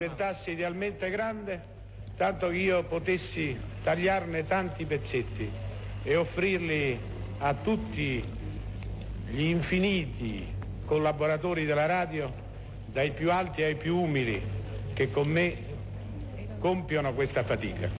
Diventasse idealmente grande, tanto che io potessi tagliarne tanti pezzetti e offrirli a tutti gli infiniti collaboratori della radio, dai più alti ai più umili, che con me compiono questa fatica.